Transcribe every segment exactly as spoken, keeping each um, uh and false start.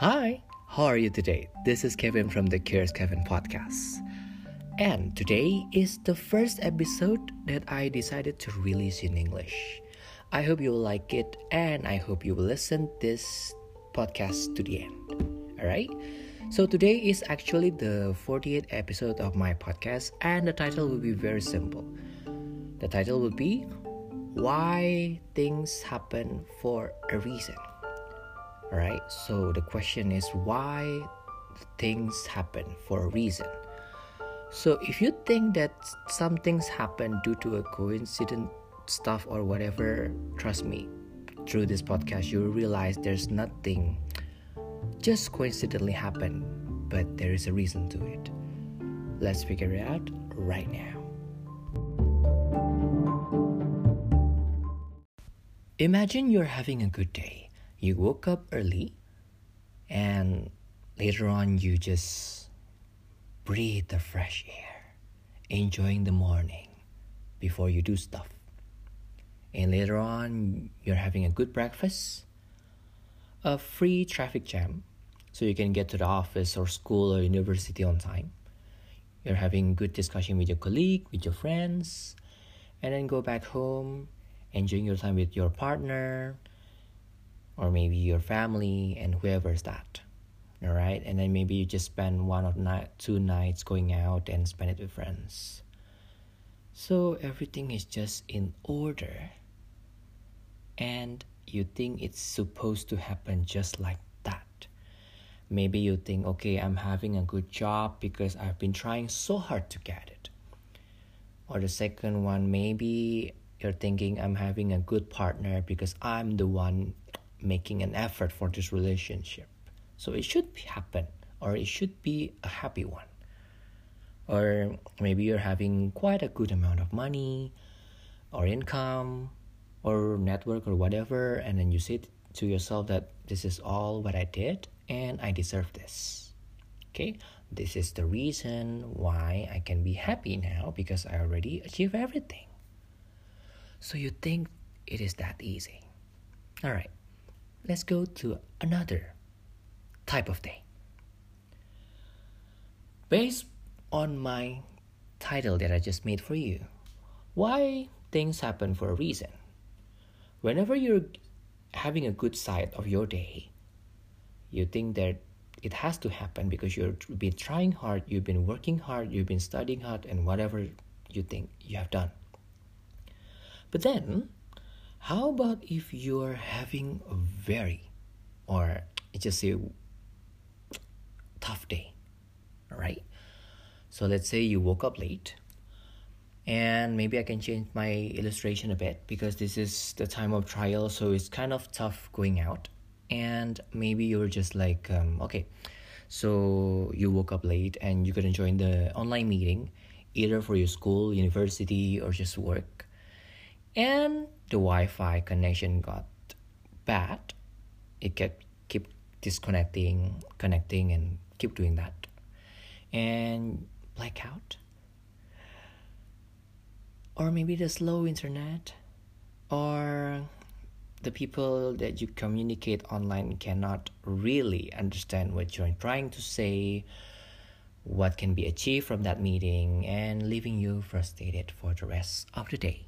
Hi, how are you today? This is Kevin from the Curious Kevin podcast. And today is the first episode that I decided to release in English. I hope you will like it and I hope you will listen this podcast to the end. Alright? So today is actually the fortieth episode of my podcast and the title will be very simple. The title will be Why Things Happen for a Reason. Alright, so the question is why things happen for a reason. So if you think that some things happen due to a coincident stuff or whatever, trust me, through this podcast you will realize there's nothing just coincidentally happen, but there is a reason to it. Let's figure it out right now. Imagine you're having a good day. You woke up early and later on you just breathe the fresh air, enjoying the morning before you do stuff. And later on you're having a good breakfast, a free traffic jam so you can get to the office or school or university on time. You're having good discussion with your colleague, with your friends, and then go back home, enjoying your time with your partner, or maybe your family and whoever's that, all right? And then maybe you just spend one or ni- two nights going out and spend it with friends. So everything is just in order, and you think it's supposed to happen just like that. Maybe you think, okay, I'm having a good job because I've been trying so hard to get it. Or the second one, maybe you're thinking I'm having a good partner because I'm the one making an effort for this relationship. So it should happen, or it should be a happy one. Or maybe you're having quite a good amount of money or income or network or whatever, and then you say to yourself that this is all what I did and I deserve this. Okay, this is the reason why I can be happy now because I already achieved everything. So you think it is that easy. All right. Let's go to another type of day. Based on my title that I just made for you, why things happen for a reason. Whenever you're having a good side of your day, you think that it has to happen because you've been trying hard, you've been working hard, you've been studying hard, and whatever you think you have done. But then, how about if you're having a very, or just say, tough day, alright? So let's say you woke up late, and maybe I can change my illustration a bit because this is the time of trial, so it's kind of tough going out. And maybe you're just like, um, okay, so you woke up late and you're gonna join the online meeting, either for your school, university, or just work. And the Wi-Fi connection got bad. It kept keep disconnecting, connecting, and keep doing that. And blackout. Or maybe the slow internet. Or the people that you communicate online cannot really understand what you're trying to say, what can be achieved from that meeting, and leaving you frustrated for the rest of the day.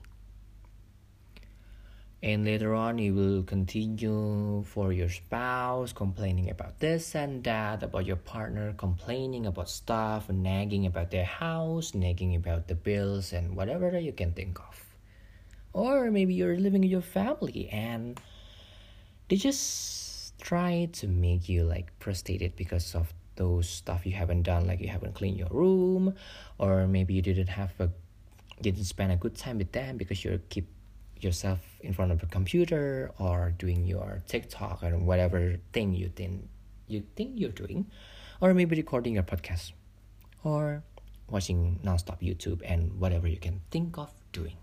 And later on, you will continue for your spouse, complaining about this and that, about your partner, complaining about stuff, nagging about their house, nagging about the bills, and whatever that you can think of. Or maybe you're living with your family and they just try to make you like frustrated because of those stuff you haven't done, like you haven't cleaned your room, or maybe you didn't have a, didn't spend a good time with them because you keep yourself in front of a computer or doing your TikTok or whatever thing you think you think you're doing, or maybe recording your podcast or watching nonstop YouTube and whatever you can think of doing.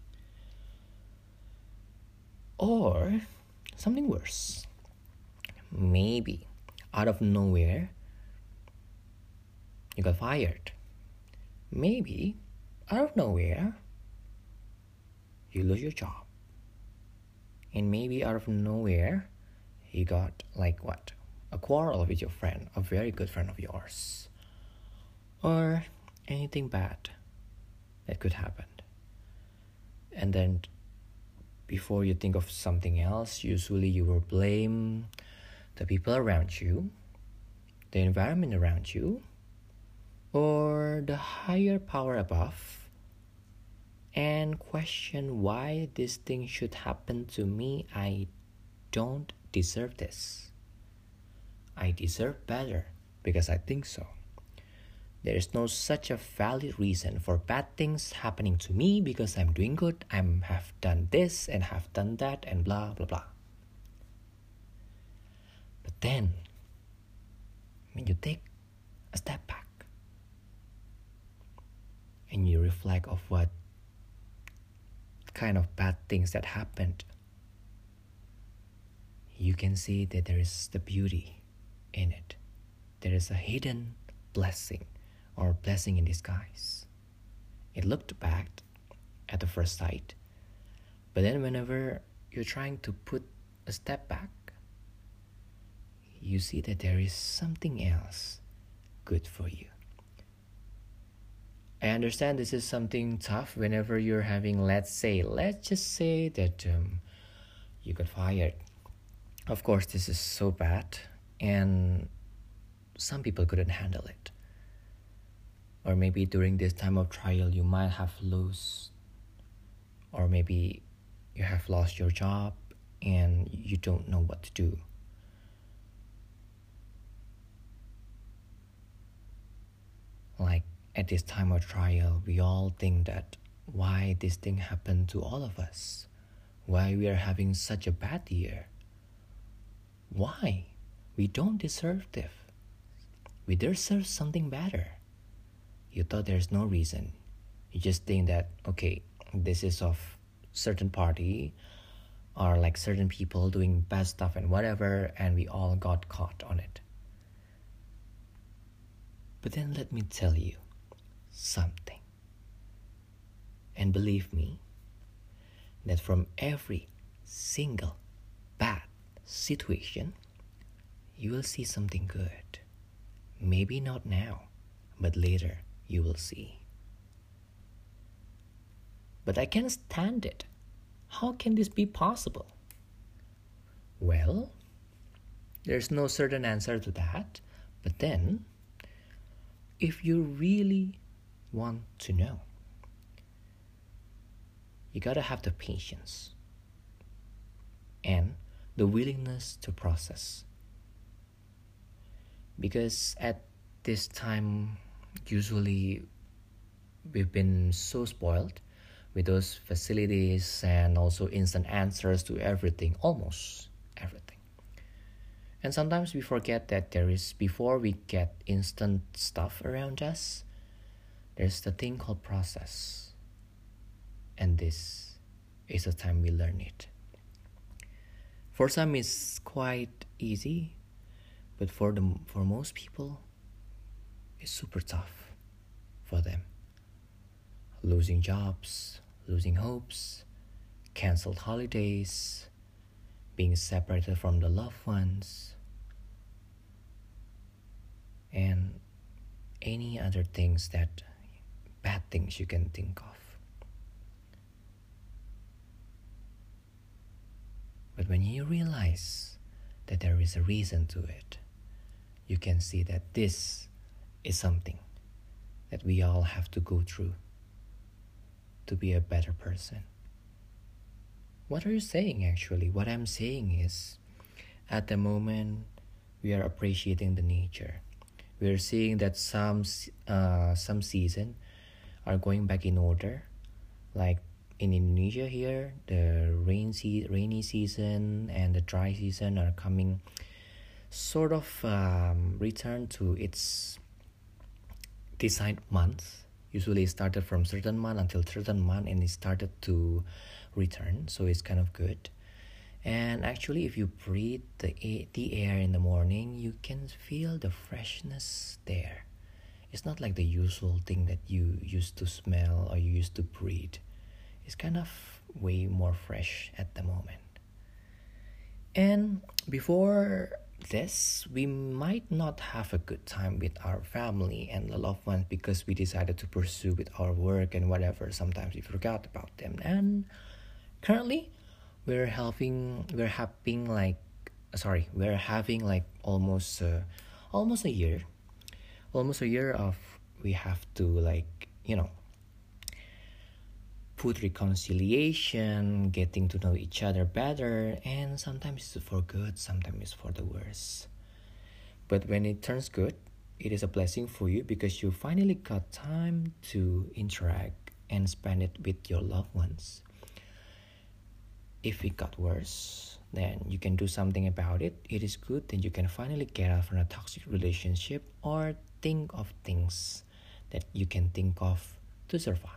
Or something worse. Maybe out of nowhere you got fired. Maybe out of nowhere you lose your job. And maybe out of nowhere you got like what a quarrel with your friend, a very good friend of yours, or anything bad that could happen. And then before you think of something else, usually you will blame the people around you, the environment around you, or the higher power above, and question why this thing should happen to me. I don't deserve this. I deserve better because I think so. There is no such a valid reason for bad things happening to me because I'm doing good, I have done this and have done that and blah blah blah. But then, when you take a step back and you reflect of what kind of bad things that happened, you can see that there is the beauty in it. There is a hidden blessing or blessing in disguise. It looked bad at the first sight, but then whenever you're trying to put a step back, you see that there is something else good for you. I understand this is something tough whenever you're having, let's say, let's just say that um, you got fired. Of course, this is so bad, and some people couldn't handle it. Or maybe during this time of trial, you might have lost, or maybe you have lost your job and you don't know what to do. Like at this time of trial, we all think that why this thing happened to all of us, why we are having such a bad year, why we don't deserve this, we deserve something better. You thought there's no reason. You just think that, okay, this is of certain party or like certain people doing bad stuff and whatever, and we all got caught on it. But then let me tell you something. And believe me, that from every single bad situation, you will see something good. Maybe not now, but later you will see. But I can't stand it. How can this be possible? Well, there's no certain answer to that. But then, if you really want to know, you gotta have the patience and the willingness to process. Because at this time, usually we've been so spoiled with those facilities and also instant answers to everything, almost everything. And sometimes we forget that there is, before we get instant stuff around us, there's the thing called process. And this is the time we learn it. For some it's quite easy, but for the for most people, it's super tough for them. Losing jobs, losing hopes, canceled holidays, being separated from the loved ones, and any other things that, bad things you can think of. But when you realize that there is a reason to it, you can see that this is something that we all have to go through to be a better person. What are you saying actually? What I'm saying is, at the moment, we are appreciating the nature. We are seeing that some uh, some season are going back in order. Like in Indonesia here, the rain se- rainy season and the dry season are coming sort of um, return to its designed months. Usually it started from certain month until certain month and it started to return, so it's kind of good. And actually if you breathe the a- the air in the morning, you can feel the freshness there. It's not like the usual thing that you used to smell or you used to breathe. It's kind of way more fresh at the moment. And before this, we might not have a good time with our family and the loved ones because we decided to pursue with our work and whatever. Sometimes we forgot about them. And currently, we're having we're having like sorry we're having like almost uh, almost a year, almost a year of we have to like you know put reconciliation, getting to know each other better, and sometimes it's for good, sometimes it's for the worse. But when it turns good, it is a blessing for you because you finally got time to interact and spend it with your loved ones. If it got worse, then you can do something about it. It is good, then you can finally get out from a toxic relationship or think of things that you can think of to survive.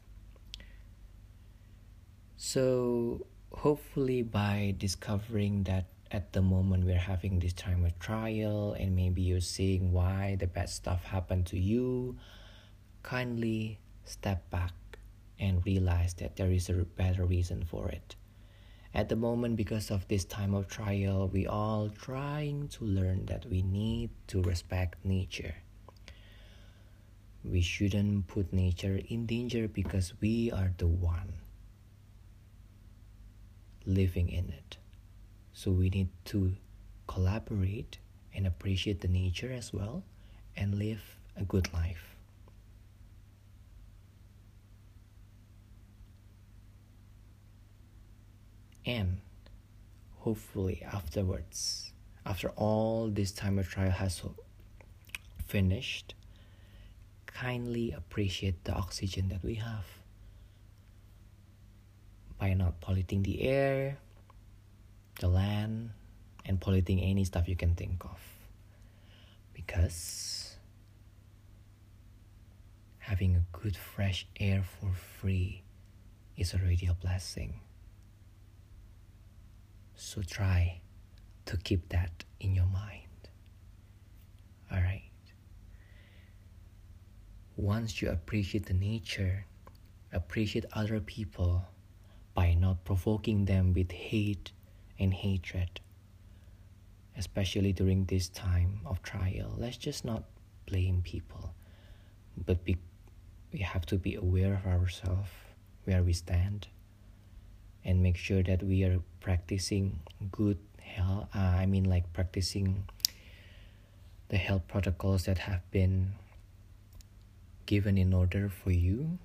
So hopefully by discovering that at the moment we're having this time of trial and maybe you're seeing why the bad stuff happened to you, kindly step back and realize that there is a better reason for it. At the moment, because of this time of trial, we all trying to learn that we need to respect nature. We shouldn't put nature in danger because we are the one living in it. So we need to collaborate and appreciate the nature as well and live a good life. And hopefully afterwards, after all this time of trial has finished, kindly appreciate the oxygen that we have by not polluting the air, the land, and polluting any stuff you can think of. Because having a good fresh air for free is already a blessing. So try to keep that in your mind. Alright. Once you appreciate the nature, appreciate other people by not provoking them with hate and hatred, especially during this time of trial. Let's just not blame people, but be, we have to be aware of ourselves, where we stand, and make sure that we are practicing good health. Uh, I mean, like practicing the health protocols that have been given in order for you,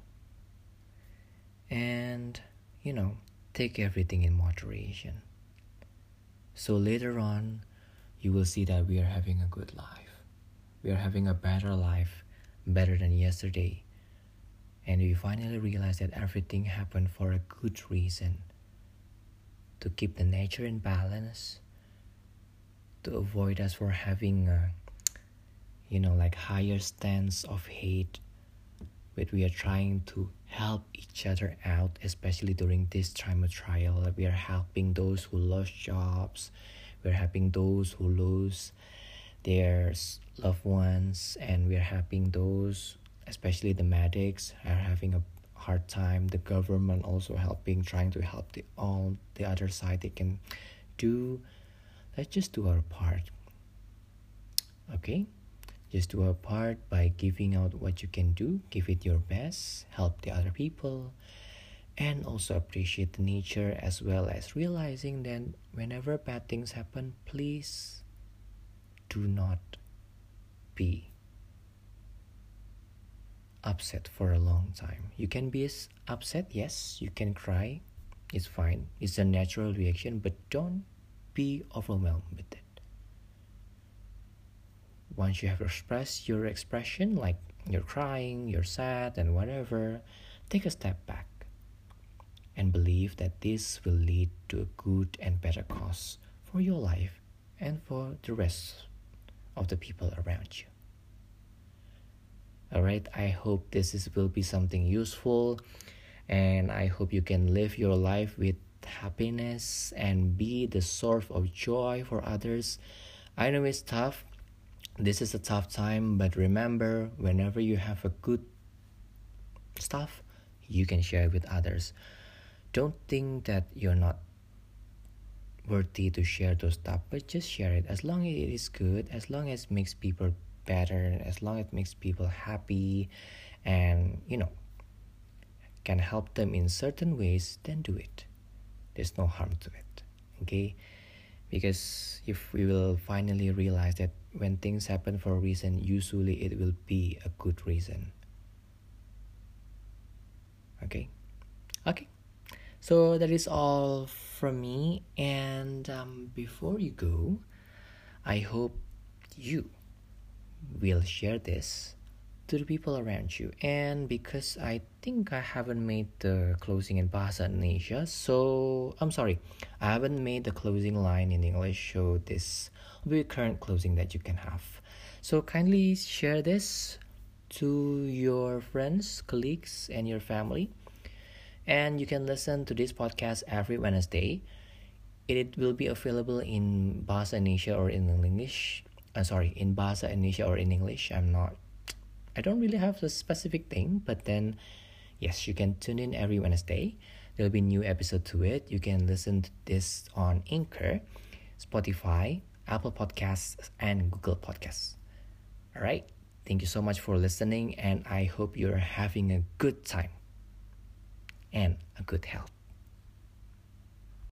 and you know, take everything in moderation. So later on, you will see that we are having a good life. We are having a better life, better than yesterday. And we finally realize that everything happened for a good reason. To keep the nature in balance, to avoid us for having a, you know, like higher stance of hate. But we are trying to help each other out, especially during this time of trial. We are helping those who lost jobs. We're helping those who lose their loved ones. And we're helping those, especially the medics, are having a hard time. The government also helping, trying to help the all the other side they can do. Let's just do our part. Okay? Just do our part by giving out what you can do, give it your best, help the other people, and also appreciate the nature, as well as realizing that whenever bad things happen, please do not be upset for a long time. You can be upset, yes, you can cry, it's fine, it's a natural reaction, but don't be overwhelmed with it. Once you have expressed your expression, like you're crying, you're sad, and whatever, take a step back and believe that this will lead to a good and better cause for your life and for the rest of the people around you. Alright, I hope this is, will be something useful, and I hope you can live your life with happiness and be the source of joy for others. I know it's tough. This is a tough time, but remember, whenever you have a good stuff, you can share it with others. Don't think that you're not worthy to share those stuff, but just share it as long as it is good, as long as it makes people better, as long as it makes people happy, and you know can help them in certain ways, then do it. There's no harm to it. Okay, because if we will finally realize that when things happen for a reason, usually it will be a good reason. Okay, okay, so that is all from me. And um, before you go, I hope you will share this to the people around you. And because I think I haven't made the closing in Bahasa Indonesia, so I'm sorry, I haven't made the closing line in English, so this will be a current closing that you can have. So kindly share this to your friends, colleagues, and your family. And you can listen to this podcast every Wednesday. It will be available in Bahasa Indonesia or in English. Uh, sorry, in Bahasa Indonesia or in English. I'm not, I don't really have a specific thing, but then, yes, you can tune in every Wednesday. There'll be a new episode to it. You can listen to this on Anchor, Spotify, Apple Podcasts, and Google Podcasts. All right. Thank you so much for listening, and I hope you're having a good time and a good health.